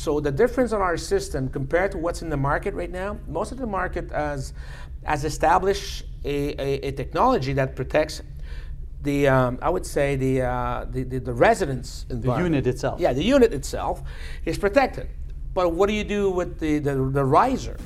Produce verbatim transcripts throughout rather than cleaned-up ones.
so the difference on our system compared to what's in the market right now, most of the market has, has established a, a, a technology that protects the, um, I would say, the, uh, the, the, the residence environment. The unit itself. Yeah, the unit itself is protected. But what do you do with the, the, the riser?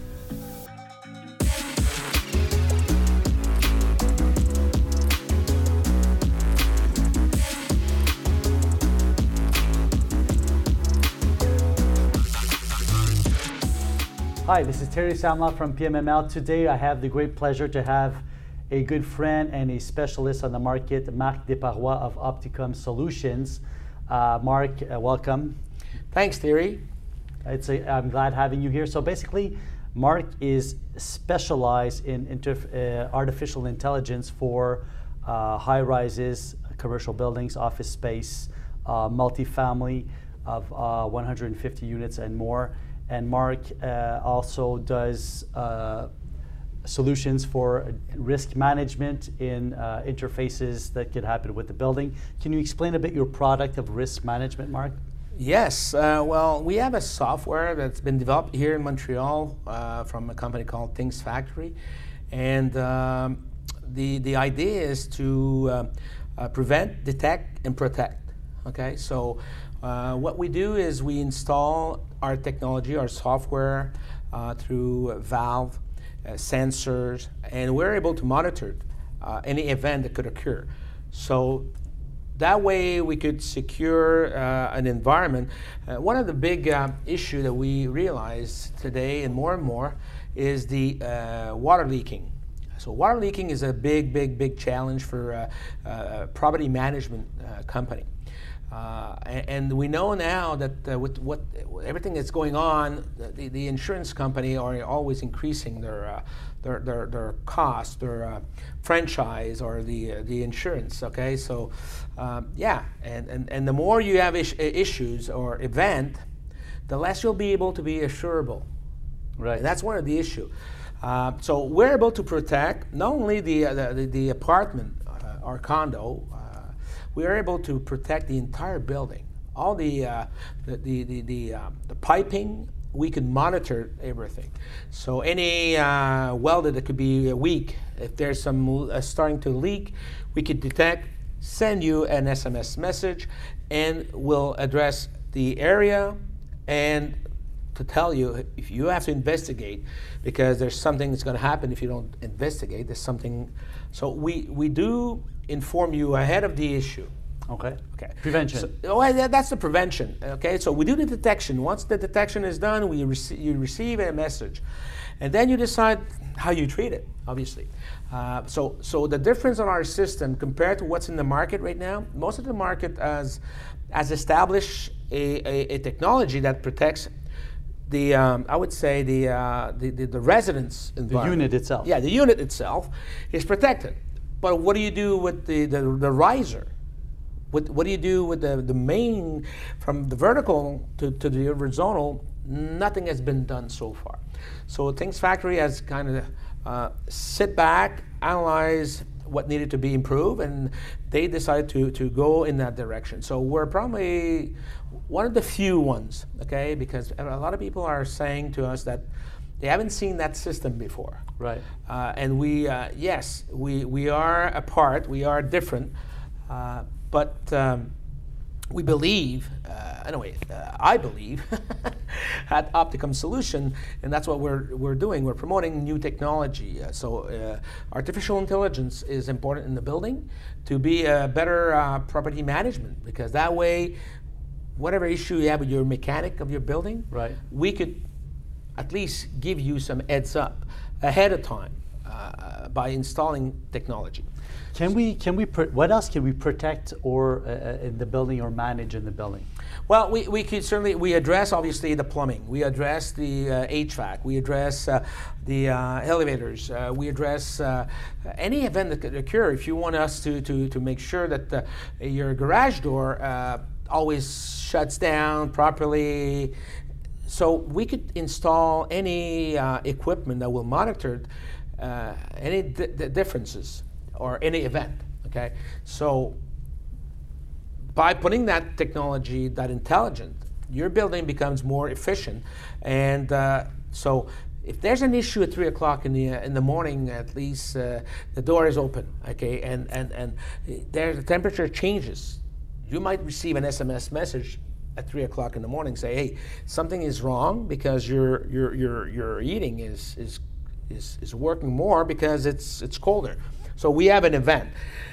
Hi, this is Terry Samla from P M M L. Today I have the great pleasure to have a good friend and a specialist on the market, Marc Desparois of Opticom Solutions. Uh, Marc, uh, welcome. Thanks, Terry. It's a, I'm glad having you here. So basically, Marc is specialized in inter, uh, artificial intelligence for uh, high-rises, commercial buildings, office space, uh, multifamily of uh, one hundred fifty units and more. And Marc uh, also does uh, solutions for risk management in uh, interfaces that could happen with the building. Can you explain a bit your product of risk management, Marc? Yes, uh, well, we have a software that's been developed here in Montreal uh, from a company called Things Factory. And um, the, the idea is to uh, uh, prevent, detect, and protect. Okay, so uh, what we do is we install our technology, our software uh, through valve, uh, sensors, and we're able to monitor uh, any event that could occur. So that way we could secure uh, an environment. Uh, one of the big uh, issues that we realize today and more and more is the uh, water leaking. So water leaking is a big, big, big challenge for uh, uh, property management uh, company. Uh, and, and we know now that uh, with what everything that's going on, the, the insurance company are always increasing their uh, their, their their cost, their uh, franchise, or the uh, the insurance. Okay, so um, yeah, and, and and the more you have is issues or event, the less you'll be able to be assurable. Right. And that's one of the issue. Uh, so we're able to protect not only the uh, the, the apartment uh, or condo. Uh, We are able to protect the entire building, all the uh, the the the, the, uh, the piping. We can monitor everything. So any uh, welder that could be weak, if there's some uh, starting to leak, we could detect, send you an S M S message, and we'll address the area and to tell you if you have to investigate, because there's something that's going to happen if you don't investigate. There's something. So we we do inform you ahead of the issue. Okay. Okay. Prevention. So, well, that's the prevention. Okay. So we do the detection. Once the detection is done, we rec- you receive a message, and then you decide how you treat it. Obviously. Uh, so so the difference on our system compared to what's in the market right now, most of the market has has established a, a, a technology that protects the um, I would say the, uh, the the the residence environment. The unit itself. Yeah, the unit itself is protected. But what do you do with the, the, the riser? What, what do you do with the, the main, from the vertical to, to the horizontal? Nothing has been done so far. So Things Factory has kind of uh, sit back, analyze what needed to be improved, and they decided to, to go in that direction. So we're probably one of the few ones, okay? Because a lot of people are saying to us that they haven't seen that system before. Right. Uh, and we, uh, yes, we, we are apart, we are different, uh, but um, we believe, uh, anyway, uh, I believe at Opticom Solution, and that's what we're, we're doing. We're promoting new technology. Uh, so uh, artificial intelligence is important in the building to be a better uh, property management, because that way, whatever issue you have with your mechanic of your building, right, we could at least give you some heads up ahead of time uh, by installing technology. Can we, can we, pr- what else can we protect or uh, in the building or manage in the building? Well, we, we could certainly, we address obviously the plumbing, we address the uh, H V A C, we address uh, the uh, elevators, uh, we address uh, any event that could occur. If you want us to, to, to make sure that uh, your garage door uh, always shuts down properly, so we could install any uh, equipment that will monitor uh, any d- d- differences or any event, okay? So by putting that technology, that intelligent, your building becomes more efficient. And uh, so if there's an issue at three o'clock in the uh, in the morning, at least uh, the door is open, okay, and and and there the temperature changes. You might receive an S M S message at three o'clock in the morning, say, hey, something is wrong because your your your your heating is is is is working more because it's it's colder. So we have an event.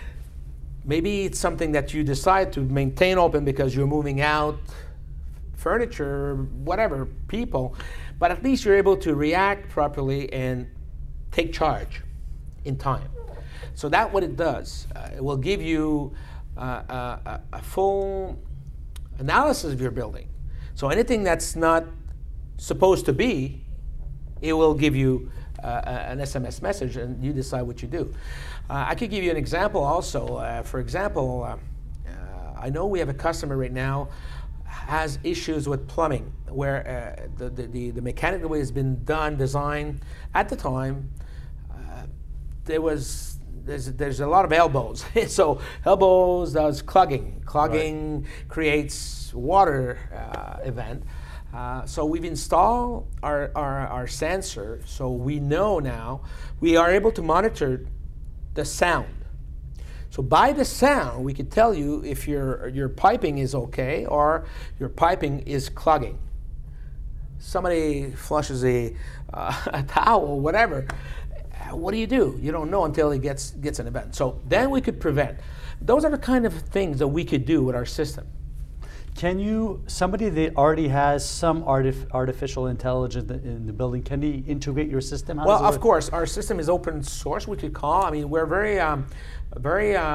Maybe it's something that you decide to maintain open because you're moving out furniture, whatever, people, but at least you're able to react properly and take charge in time. So that's what it does. Uh, it will give you uh, a, a full analysis of your building. So anything that's not supposed to be, it will give you uh, an S M S message and you decide what you do. Uh, I could give you an example also. Uh, for example, uh, uh, I know we have a customer right now has issues with plumbing, where uh, the, the, the, the mechanical way has been done, designed. At the time, uh, there was, there's, there's a lot of elbows. So elbows does clogging. Clogging right. creates water uh, event. Uh, so we've installed our, our, our sensor, so we know now, we are able to monitor the sound. So by the sound, we could tell you if your, your piping is okay or your piping is clogging. Somebody flushes a, uh, a towel or whatever, what do you do? You don't know until it gets, gets an event. So then we could prevent. Those are the kind of things that we could do with our system. Can you, somebody that already has some artif artificial intelligence in the building, can he integrate your system? How well, of course, our system is open source, we could call. I mean, we're very, um, very, uh,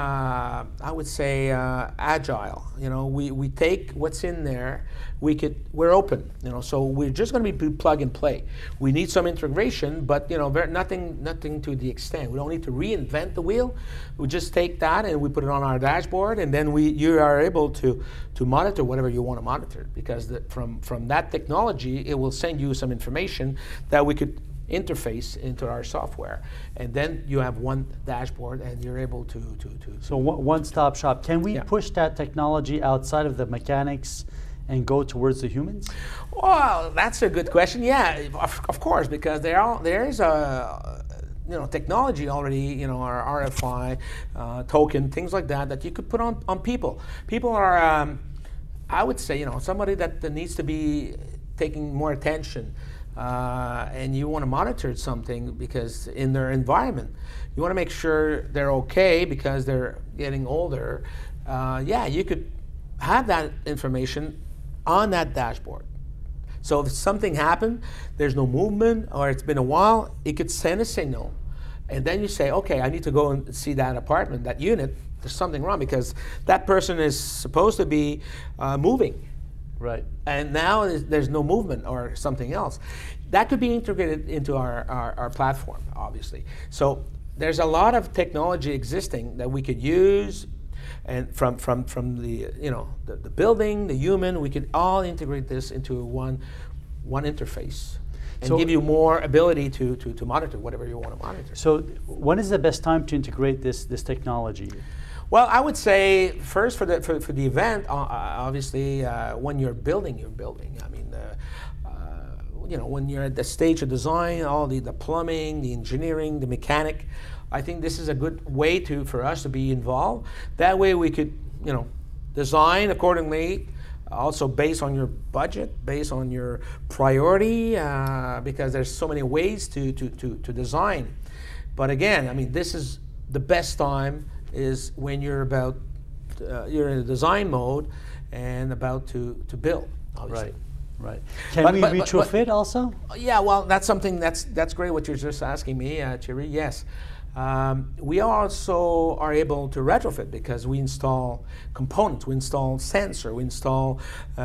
I would say, uh, agile. You know, we, we take what's in there, we could, we're open, you know, so we're just going to be plug and play. We need some integration, but, you know, very, nothing, nothing to the extent. We don't need to reinvent the wheel. We just take that and we put it on our dashboard, and then we, you are able to, to monitor whatever you want to monitor, because the, from, from that technology, it will send you some information that we could interface into our software, and then you have one dashboard and you're able to to, to so one, one-stop shop. Can we yeah. push that technology outside of the mechanics and go towards the humans? Well, that's a good question. Yeah, of, of course, because there are there is a you know technology already, you know, our R F I uh, token, things like that, that you could put on on people. People are, um, I would say, you know, somebody that, that needs to be taking more attention. Uh, and you want to monitor something because in their environment, you want to make sure they're okay because they're getting older. Uh, yeah, you could have that information on that dashboard. So if something happened, there's no movement, or it's been a while, it could send a signal. And then you say, okay, I need to go and see that apartment, that unit. There's something wrong because that person is supposed to be uh, moving. Right. And now there's no movement or something else. That could be integrated into our, our, our platform, obviously. So there's a lot of technology existing that we could use, and from, from, from the, you know, the, the building, the human, we could all integrate this into one, one interface and so give you more ability to, to, to monitor whatever you want to monitor. So when is the best time to integrate this, this technology? Well, I would say first for the for, for the event, uh, obviously, uh, when you're building your building. I mean, uh, uh, you know, when you're at the stage of design, all the the plumbing, the engineering, the mechanic. I think this is a good way to for us to be involved. That way, we could, you know, design accordingly. Also based on your budget, based on your priority, uh, because there's so many ways to to to to design. But again, I mean, this is the best time. Is when you're about, uh, you're in a design mode and about to, to build, obviously. Right, right. Can but, we but, retrofit but, also? Yeah, well, that's something, that's that's great what you're just asking me, uh, Thierry, yes. Um, we also are able to retrofit because we install components, we install sensor, we install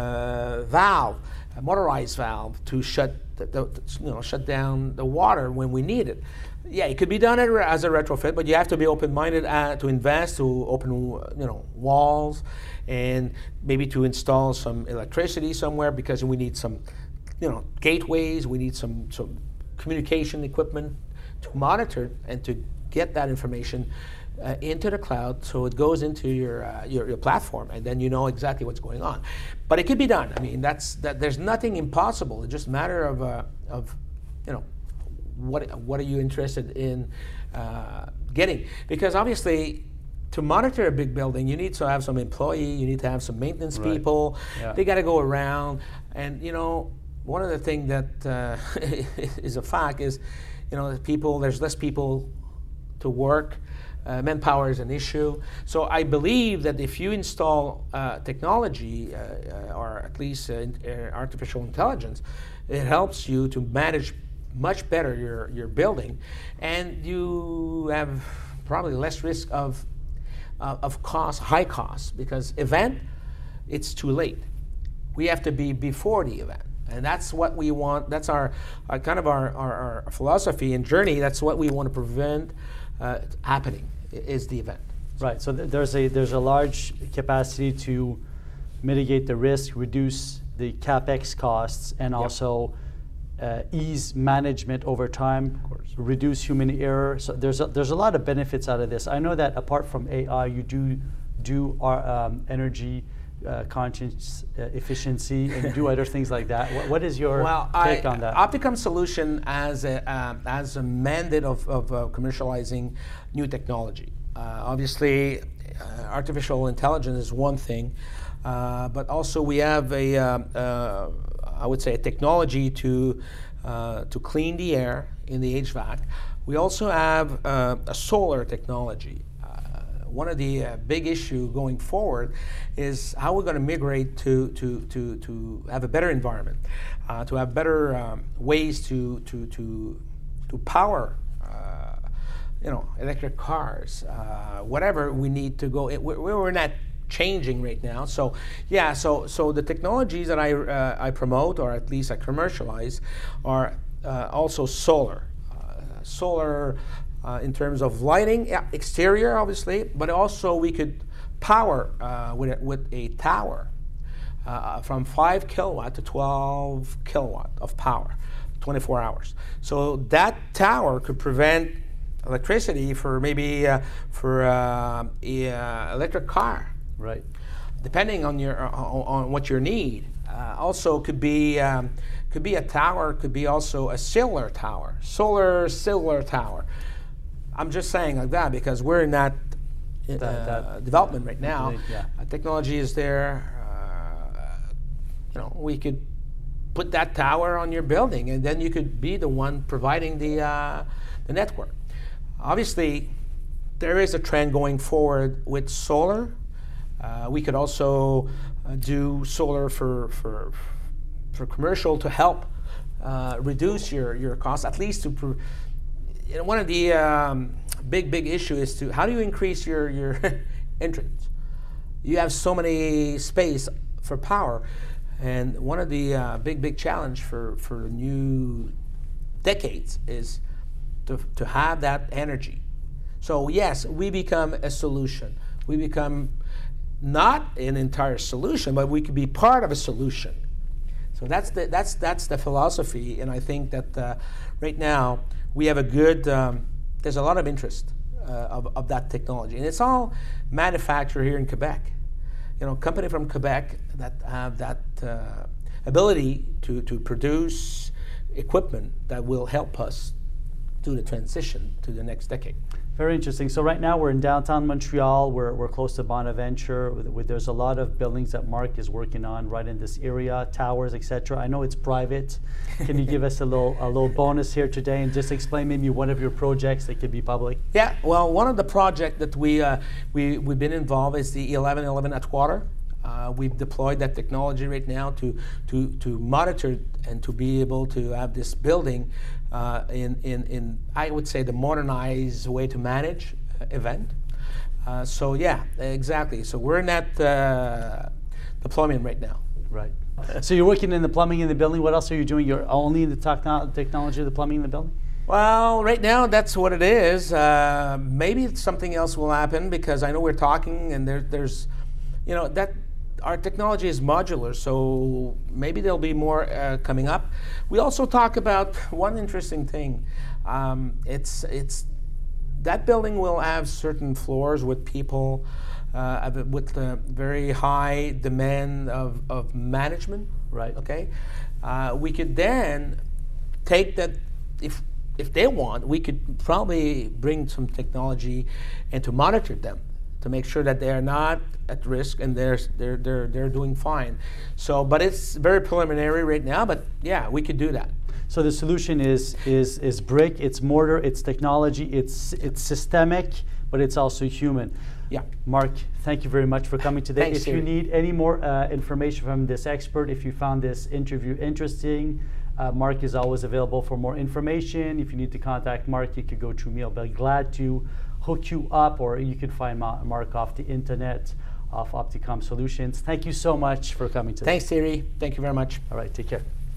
uh, valve, a motorized valve to shut, the, the, you know, shut down the water when we need it. Yeah, it could be done as a retrofit, but you have to be open-minded uh, to invest, to open, you know, walls, and maybe to install some electricity somewhere because we need some, you know, gateways. We need some some communication equipment to monitor and to get that information uh, into the cloud, so it goes into your, uh, your your platform, and then you know exactly what's going on. But it can be done. I mean, that's that. There's nothing impossible. It's just a matter of uh, of you know what what are you interested in uh, getting? Because obviously, to monitor a big building, you need to have some employee, you need to have some maintenance Right. people. Yeah. They got to go around, and you know, one of the things that uh, is a fact is, you know, people. There's less people to work. Uh, manpower is an issue. So I believe that if you install uh, technology, uh, uh, or at least uh, in, uh, artificial intelligence, it helps you to manage much better your, your building, and you have probably less risk of uh, of cost, high costs, because event, it's too late. We have to be before the event. And that's what we want. That's our, our kind of our, our, our philosophy and journey. That's what we want to prevent uh, happening, is the event. Right. So th there's a there's a large capacity to mitigate the risk, reduce the capex costs, and Yep. also uh, ease management over time, reduce human error. So there's a, there's a lot of benefits out of this. I know that apart from A I, you do do our, um, energy uh, conscious uh, efficiency and do other things like that. What, what is your well, take I, on that? Opticom solution as a um, as a mandate of, of uh, commercializing new technology. Uh, obviously, uh, artificial intelligence is one thing, uh, but also we have a um, uh, I would say a technology to uh, to clean the air in the H V A C. We also have uh, a solar technology. One of the uh, big issue going forward is how we're going to migrate to, to, to, to have a better environment, uh, to have better um, ways to, to, to, to power uh, you know, electric cars, uh, whatever we need to go. It, we're, we're not changing right now. So yeah, so, so the technologies that I, uh, I promote, or at least I commercialize, are uh, also solar. Uh, solar Uh, in terms of lighting, yeah, exterior obviously, but also we could power uh, with, a, with a tower uh, from five kilowatt to twelve kilowatt of power, twenty-four hours. So that tower could prevent electricity for maybe uh, for uh, a uh, electric car, Right. depending on your on, on what your need. Uh, also could be um, could be a tower, could be also a solar tower, solar solar tower. I'm just saying like that because we're in that, uh, That- that- development right now. Yeah. Uh, technology is there. Uh, you know, we could put that tower on your building, and then you could be the one providing the uh, the network. Obviously, there is a trend going forward with solar. Uh, we could also uh, do solar for for for commercial to help uh, reduce your your costs, at least to. Pro You know, one of the um, big, big issue is to how do you increase your, your entrance? You have so many space for power, and one of the uh, big, big challenge for, for new decades is to, to have that energy. So yes, we become a solution. We become not an entire solution, but we could be part of a solution. So that's the, that's, that's the philosophy, and I think that uh, right now, we have a good, um, there's a lot of interest uh, of, of that technology. And it's all manufactured here in Quebec. You know, company from Quebec that have that uh, ability to, to produce equipment that will help us do the transition to the next decade. Very interesting. So right now we're in downtown Montreal. We're, we're close to Bonaventure. With, with, there's a lot of buildings that Mark is working on right in this area, towers, et cetera. I know it's private. Can you give us a little a little bonus here today and just explain maybe one of your projects that could be public? Yeah. Well, one of the projects that we uh, we we've been involved is the eleven eleven Atwater. Uh, we've deployed that technology right now to to to monitor and to be able to have this building uh, in in in I would say the modernized way to manage uh, event. Uh, so yeah, exactly. So we're in that uh, deployment right now. Right. So you're working in the plumbing in the building. What else are you doing? You're only in the techno technology of the plumbing in the building? Well, right now that's what it is. Uh, maybe something else will happen because I know we're talking and there, there's, you know, that our technology is modular, so maybe there'll be more uh, coming up. We also talk about one interesting thing. Um, it's it's that building will have certain floors with people uh, with a very high demand of, of management. Right. Okay. Uh, we could then take that, if if they want, we could probably bring some technology and to monitor them to make sure that they are not at risk and they're they're they're they're doing fine. So, but it's very preliminary right now. But yeah, we could do that. So the solution is is is brick, it's mortar, it's technology, it's it's systemic, but it's also human. Yeah. Marc, thank you very much for coming today. Thanks, if Thierry. you need any more uh, information from this expert, if you found this interview interesting, uh, Marc is always available for more information. If you need to contact Marc, you could go through me. I'll be glad to hook you up, or you can find Marc off the internet of Opticom Solutions. Thank you so much for coming today. Thanks, Thierry. Thank you very much. All right, take care.